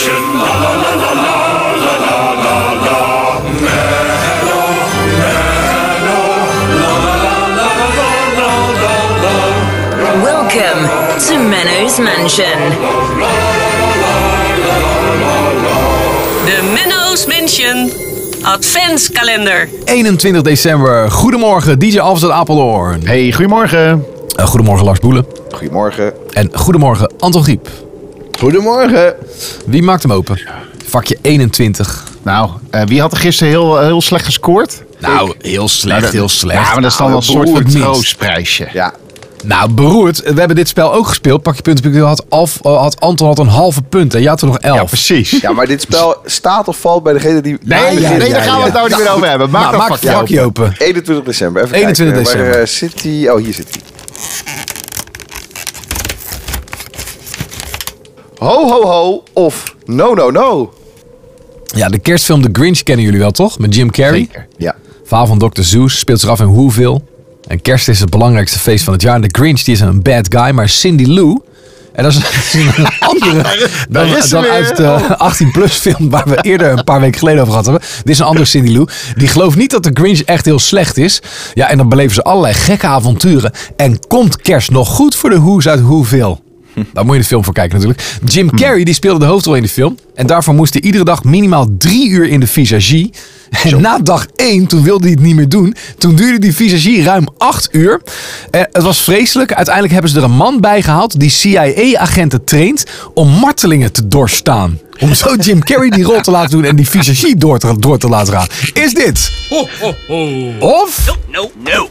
Mansion. La la la la la la la la. Menno, la la la la la. Welcome to Menno's Mansion. De Menno's Mansion Adventskalender. 21 december. Goedemorgen, DJ Alves uit Apeldoorn. Hey, goedemorgen. Goedemorgen Lars Boelen. Goedemorgen. En goedemorgen Anton Griep. Goedemorgen. Wie maakt hem open? Vakje 21. Nou, wie had er gisteren heel slecht gescoord? Nou, heel slecht, heel slecht. Ja, maar dat is dan wel een soort van beroerd niet. troostprijsje. Ja. Nou, beroerd. We hebben dit spel ook gespeeld. Pak je punten. Anton had een halve punt en jij had er nog 11. Ja, precies. Ja, maar dit spel staat of valt bij degene die... Nee, daar gaan we het nou niet meer over hebben. Maak Maak een het vakje open. 21 december. Even 21 kijken. december. Waar zit hij? Oh, hier zit hij. Ho, ho, ho. Of no, no, no. Ja, de kerstfilm The Grinch kennen jullie wel, toch? Met Jim Carrey. Zeker. Ja. Verhaal van Dr. Seuss speelt zich af in Whoville. En kerst is het belangrijkste feest van het jaar. En de Grinch die is een bad guy, maar Cindy Lou... En dat is een andere dan uit de 18-plus film waar we eerder een paar weken geleden over gehad hebben. Dit is een andere Cindy Lou. Die gelooft niet dat de Grinch echt heel slecht is. Ja, en dan beleven ze allerlei gekke avonturen. En komt kerst nog goed voor de Who's uit Whoville? Daar moet je de film voor kijken natuurlijk. Jim Carrey die speelde de hoofdrol in de film. En daarvoor moest hij iedere dag minimaal 3 uur in de visagie. En na dag 1, toen wilde hij het niet meer doen. Toen duurde die visagie ruim 8 uur. Het was vreselijk. Uiteindelijk hebben ze er een man bij gehaald die CIA-agenten traint om martelingen te doorstaan. Om zo Jim Carrey die rol te laten doen en die visagie door te laten gaan. Is dit? Ho, ho, ho. Of? No, no.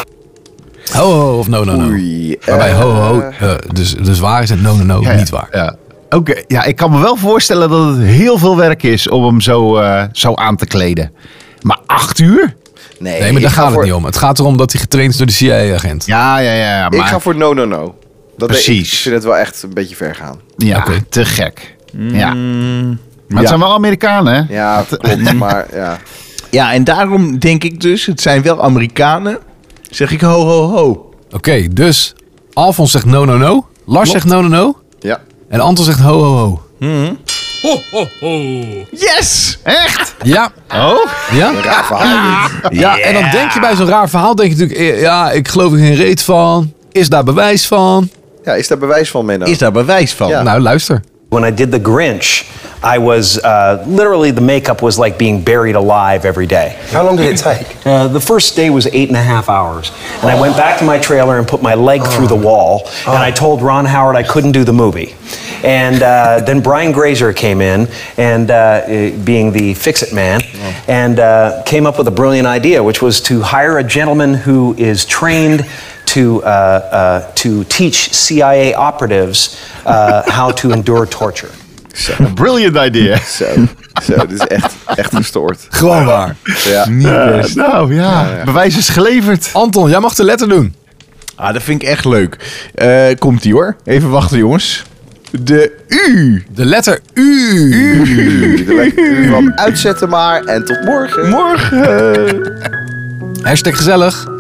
Ho, ho, of no, no, no. Oei. Waarbij ho, ho, dus waar is het no, no, no, niet waar. Ja. Oké, ja, ik kan me wel voorstellen dat het heel veel werk is om hem zo aan te kleden. Maar 8 uur? Nee, maar daar ik ga gaat het voor- niet om. Het gaat erom dat hij getraind is door de CIA-agent. Ja, maar Ik ga voor no, no, no. Precies. Ik vind het wel echt een beetje ver gaan. ja, Oké. te gek. Ja. Maar het Ja. zijn wel Amerikanen, hè? Ja, klopt, maar ja. Ja, en daarom denk ik dus, het zijn wel Amerikanen. Zeg ik ho, ho, ho. Oké, dus Alfons zegt no, no, no. Lars zegt no, no, no. Ja. En Anton zegt ho, ho, ho. Ho, ho, ho. Yes! Echt? Ja. Oh? Ja? Een raar verhaal. Ja, en dan denk je bij zo'n raar verhaal, denk je natuurlijk, ja, ik geloof er geen reet van. Is daar bewijs van? Ja, is daar bewijs van, Menno? Is daar bewijs van? Ja. Nou, luister. When I did The Grinch, I was literally, the makeup was like being buried alive every day. How long did it take? The first day was 8.5 hours. And I went back to my trailer and put my leg through the wall. And I told Ron Howard I couldn't do the movie. And then Brian Grazer came in, and being the fix-it man, and came up with a brilliant idea, which was to hire a gentleman who is trained to teach CIA operatives how to endure torture. Brilliant idea. Zo, dit is echt gestoord. Gewoon waar. Ja. Nou ja, bewijs is geleverd. Anton, jij mag de letter doen. Ah, dat vind ik echt leuk. Komt-ie hoor. Even wachten jongens. De U. De letter U. Uitzetten maar en tot morgen. Morgen. Hashtag gezellig.